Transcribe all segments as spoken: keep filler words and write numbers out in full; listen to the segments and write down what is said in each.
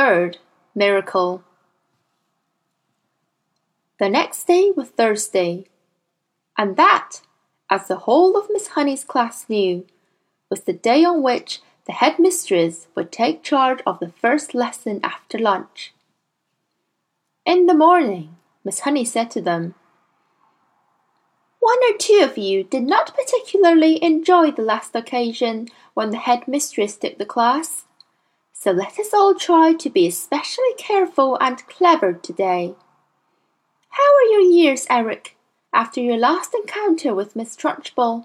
third miracle. The next day was Thursday, and that, as the whole of Miss Honey's class knew, was the day on which the headmistress would take charge of the first lesson after lunch. In the morning, Miss Honey said to them, "One or two of you did not particularly enjoy the last occasion when the headmistress took the class, so let us all try to be especially careful and clever today. How are your ears, Eric, after your last encounter with Miss Trunchbull?"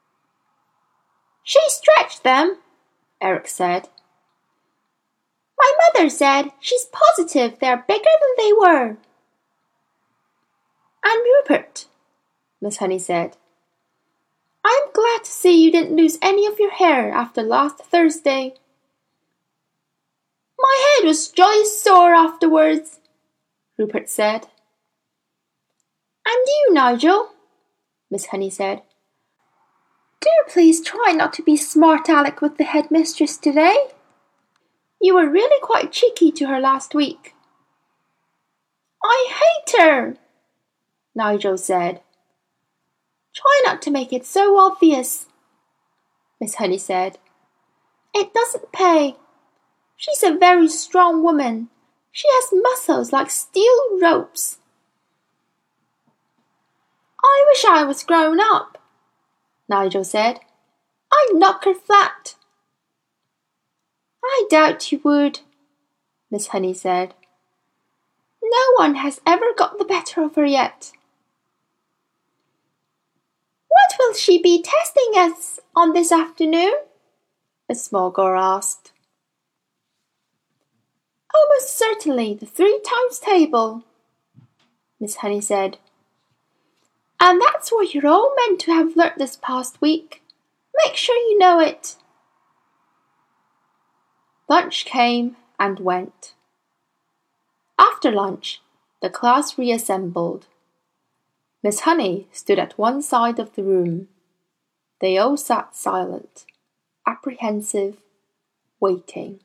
"She stretched them," Eric said. "My mother said she's positive they're bigger than they were." "And Rupert," Miss Honey said, "I'm glad to see you didn't lose any of your hair after last Thursday." "My head was jolly sore afterwards," Rupert said. "And you, Nigel," Miss Honey said, "do please try not to be smart-aleck with the headmistress today. You were really quite cheeky to her last week." "I hate her," Nigel said. "Try not to make it so obvious," Miss Honey said. "It doesn't pay. She's a very strong woman. She has muscles like steel ropes." "I wish I was grown up," Nigel said. "I'd knock her flat." "I doubt you would," Miss Honey said. "No one has ever got the better of her yet." "What will she be testing us on this afternoon?" a small girl asked. "Almost certainly the three times table," Miss Honey said. "And that's what you're all meant to have learnt this past week. Make sure you know it." Lunch came and went. After lunch, the class reassembled. Miss Honey stood at one side of the room. They all sat silent, apprehensive, waiting.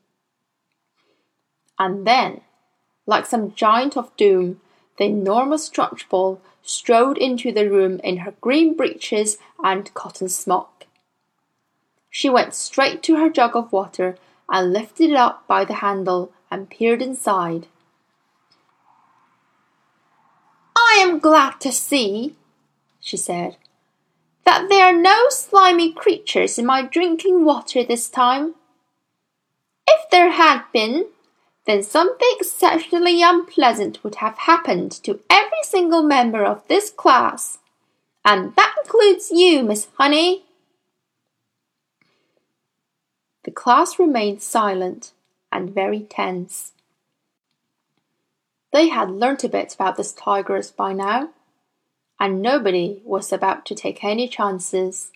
And then, like some giant of doom, the enormous Trunchbull strode into the room in her green breeches and cotton smock. She went straight to her jug of water and lifted it up by the handle and peered inside. "I am glad to see," she said, "that there are no slimy creatures in my drinking water this time. If there had been, then something exceptionally unpleasant would have happened to every single member of this class, and that includes you, Miss Honey." The class remained silent and very tense. They had learnt a bit about this tigress by now, and nobody was about to take any chances.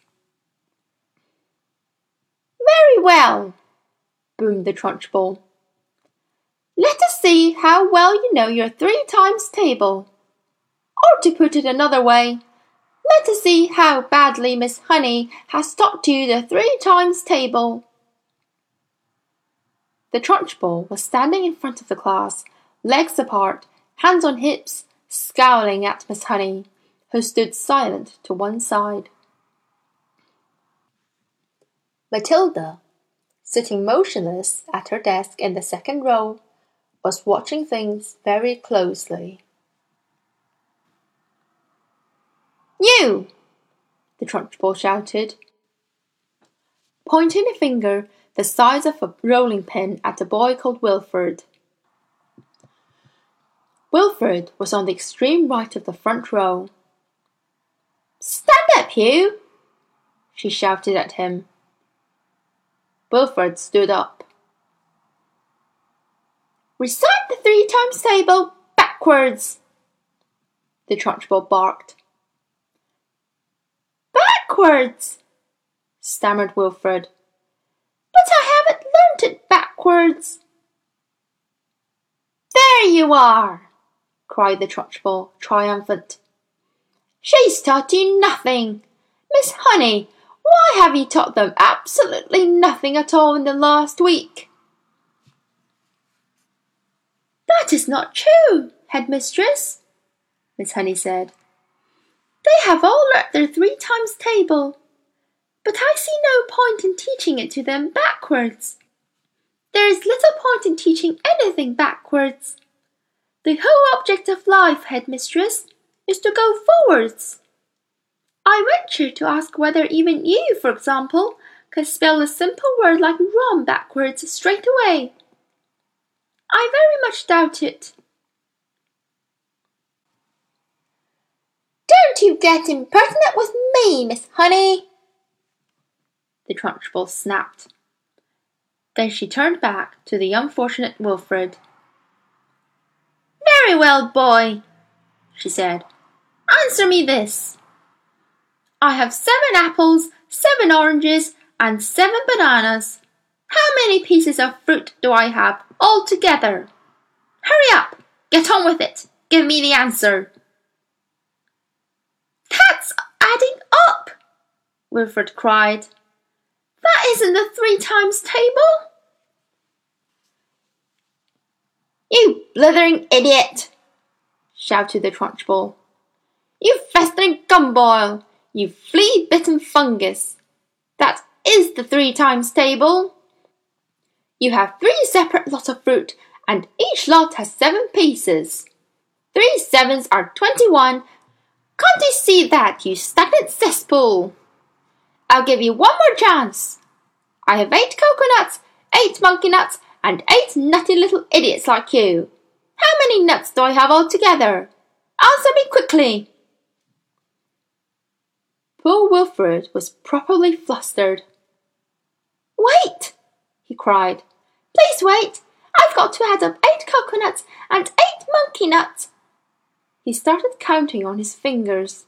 "Very well," boomed the Trunchbull. "Let us see how well you know your three times table. Or to put it another way, let us see how badly Miss Honey has taught you the three times table." The Trunchbull was standing in front of the class, legs apart, hands on hips, scowling at Miss Honey, who stood silent to one side. Matilda, sitting motionless at her desk in the second row, was watching things very closely. "You!" the Trunchbull shouted, pointing a finger the size of a rolling pin at a boy called Wilfred. Wilfred was on the extreme right of the front row. "Stand up, Hugh!" she shouted at him. Wilfred stood up. "Recite the three times table backwards," the Trunchbull barked. "Backwards," stammered Wilfred. "But I haven't learnt it backwards." "There you are!" cried the Trunchbull, triumphant. "She's taught you nothing. Miss Honey, why have you taught them absolutely nothing at all in the last week?" That is not true, headmistress, Miss Honey said. They have all learnt their three times table, but I see no point in teaching it to them backwards. There is little point in teaching anything backwards. The whole object of life, headmistress, is to go forwards. I venture to ask whether even you, for example, can spell a simple word like rum backwards straight away. I very much doubt it. Don't you get impertinent with me, Miss Honey, the Trunchbull snapped. Then she turned back to the unfortunate Wilfred. Very well, boy, she said. Answer me this. I have seven apples, seven oranges, and seven bananas. How many pieces of fruit do I have altogether? Hurry up! Get on with it! Give me the answer! That's adding up! Wilfred cried. That isn't the three times table! You blithering idiot! Shouted the Trunchbull. You festering gumboil! You flea-bitten fungus! That is the three times table! You have three separate lots of fruit, and each lot has seven pieces. Three sevens are twenty-one. Can't you see that, you stagnant cesspool? I'll give you one more chance. I have eight coconuts, eight monkey nuts, and eight nutty little idiots like you. How many nuts do I have altogether? Answer me quickly. Poor Wilfred was properly flustered. Wait, he cried. Please wait. I've got to add up eight coconuts and eight monkey nuts. He started counting on his fingers.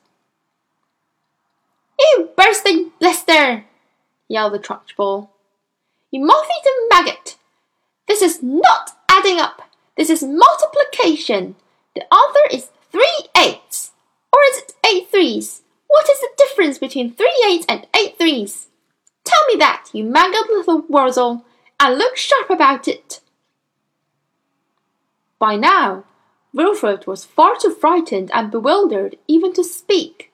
You bursting blister, yelled the Trunchbull. You moth-eaten maggot. This is not adding up. This is multiplication. The answer is three eights. Or is it eight threes? What is the difference between three eights and eight threes? Tell me that, you mangled little Wurzel, and look sharp about it. By now, Wilfred was far too frightened and bewildered even to speak.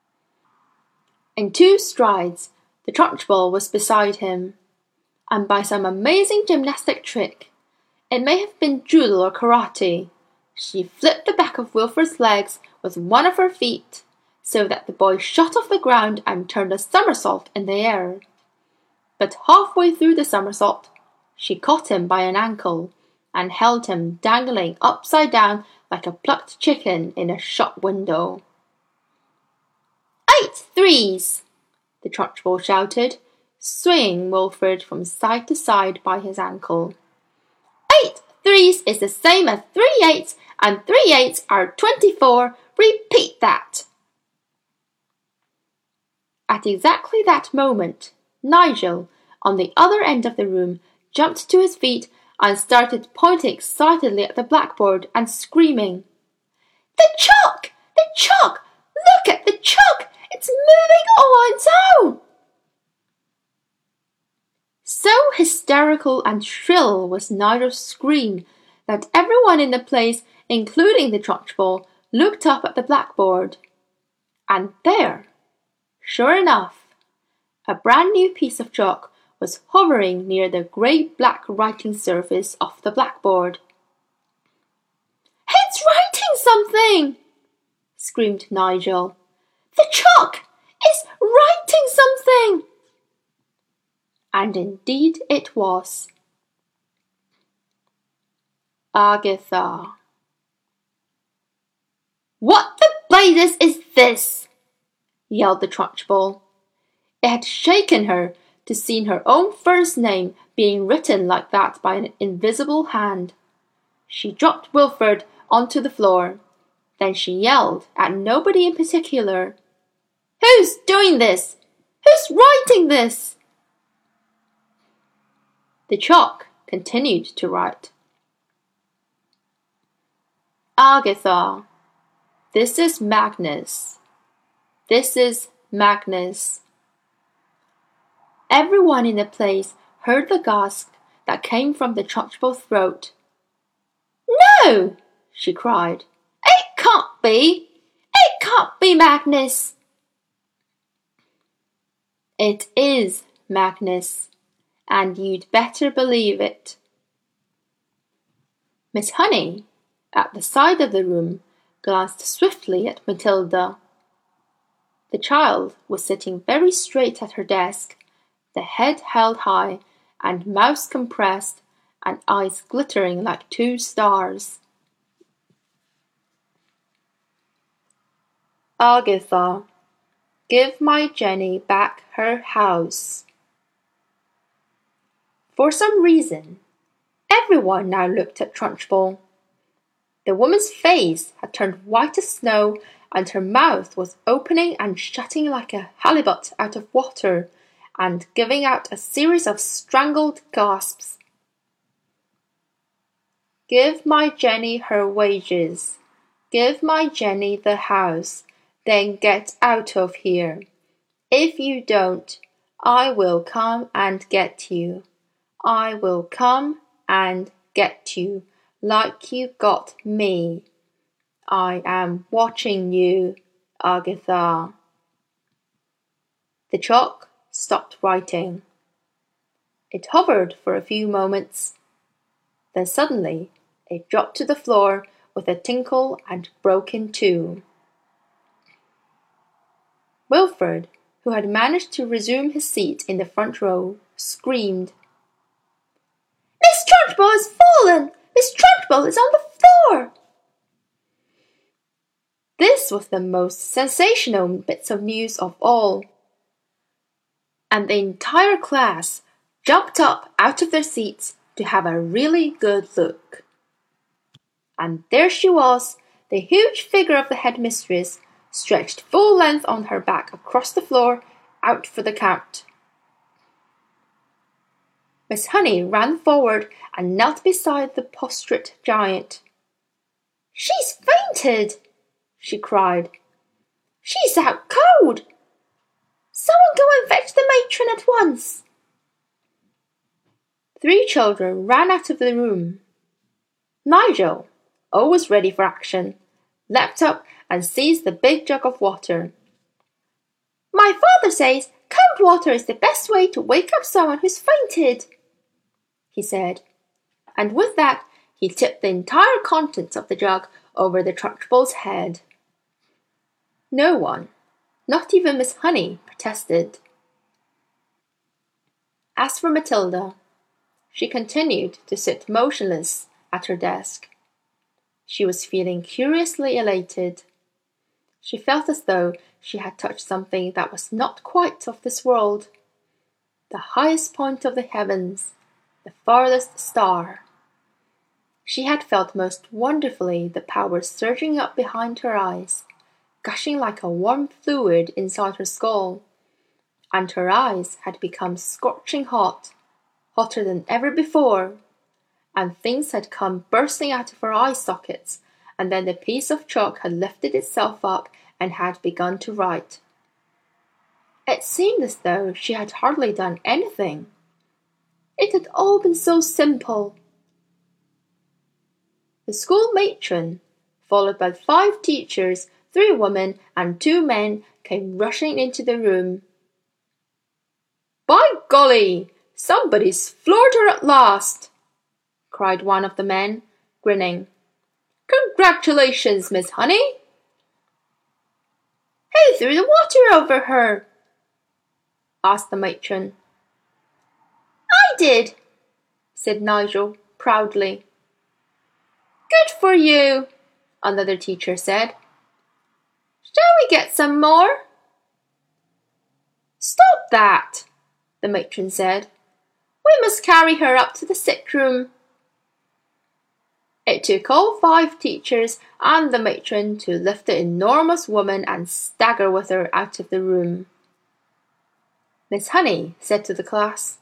In two strides, the Trunchbull was beside him, and by some amazing gymnastic trick, it may have been judo or karate, she flipped the back of Wilfred's legs with one of her feet, so that the boy shot off the ground and turned a somersault in the air. But halfway through the somersault, she caught him by an ankle and held him dangling upside down like a plucked chicken in a shop window. Eight threes, the Trunchbull shouted, swinging Wilfred from side to side by his ankle. Eight threes is the same as three eights, and three eights are twenty-four. Repeat that. At exactly that moment, Nigel, on the other end of the room, jumped to his feet and started pointing excitedly at the blackboard and screaming, The chalk! The chalk! Look at the chalk! It's moving all on its own! So hysterical and shrill was Nigel's scream that everyone in the place, including the Trunchbull, looked up at the blackboard. And there, sure enough, a brand new piece of chalk was hovering near the grey-black writing surface of the blackboard. It's writing something! Screamed Nigel. The chalk is writing something! And indeed it was. Agatha. What the blazes is this? Yelled the Trunchbull. It had shaken her to see her own first name being written like that by an invisible hand. She dropped Wilfred onto the floor. Then she yelled at nobody in particular. Who's doing this? Who's writing this? The chalk continued to write. Agatha, this is Magnus. This is Magnus. Everyone in the place heard the gasp that came from the Trunchbull's throat. No! She cried. It can't be! It can't be, Magnus! It is, Magnus, and you'd better believe it. Miss Honey, at the side of the room, glanced swiftly at Matilda. The child was sitting very straight at her desk, the head held high, and mouth compressed, and eyes glittering like two stars. Agatha, give my Jenny back her house. For some reason, everyone now looked at Trunchbull. The woman's face had turned white as snow, and her mouth was opening and shutting like a halibut out of water, and giving out a series of strangled gasps. Give my Jenny her wages. Give my Jenny the house. Then get out of here. If you don't, I will come and get you. I will come and get you, like you got me. I am watching you, Agatha. The chalk stopped writing. It hovered for a few moments. Then suddenly it dropped to the floor with a tinkle and broke in two. Wilfred, who had managed to resume his seat in the front row, screamed. Miss Trunchbull has fallen! Miss Trunchbull is on the floor! This was the most sensational bit of news of all, and the entire class jumped up out of their seats to have a really good look. And there she was, the huge figure of the headmistress, stretched full length on her back across the floor, out for the count. Miss Honey ran forward and knelt beside the prostrate giant. She's fainted, she cried. She's out cold. Someone go and fetch the matron at once. Three children ran out of the room. Nigel, always ready for action, leapt up and seized the big jug of water. My father says cold water is the best way to wake up someone who's fainted, he said, and with that he tipped the entire contents of the jug over the Trunchbull's head. No one, not even Miss Honey, protested. As for Matilda, she continued to sit motionless at her desk. She was feeling curiously elated. She felt as though she had touched something that was not quite of this world, the highest point of the heavens, the farthest star. She had felt most wonderfully the power surging up behind her eyes, gushing like a warm fluid inside her skull, and her eyes had become scorching hot, hotter than ever before, and things had come bursting out of her eye sockets, and then the piece of chalk had lifted itself up and had begun to write. It seemed as though she had hardly done anything. It had all been so simple. The school matron, followed by five teachers, three women and two men, came rushing into the room. By golly, somebody's floored her at last, cried one of the men, grinning. Congratulations, Miss Honey. Who threw the water over her? asked the matron. I did, said Nigel proudly. Good for you, another teacher said. Shall we get some more? Stop that, the matron said. We must carry her up to the sick room. It took all five teachers and the matron to lift the enormous woman and stagger with her out of the room. Miss Honey said to the class,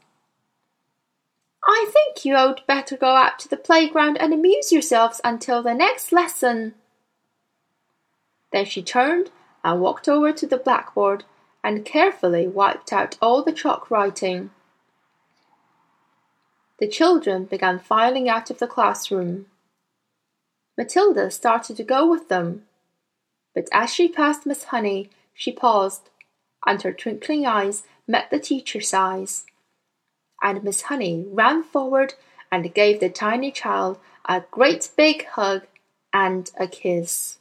I think you had better go out to the playground and amuse yourselves until the next lesson. Then she turned and walked over to the blackboard and carefully wiped out all the chalk writing. The children began filing out of the classroom. Matilda started to go with them, but as she passed Miss Honey, she paused, and her twinkling eyes met the teacher's eyes. And Miss Honey ran forward and gave the tiny child a great big hug and a kiss.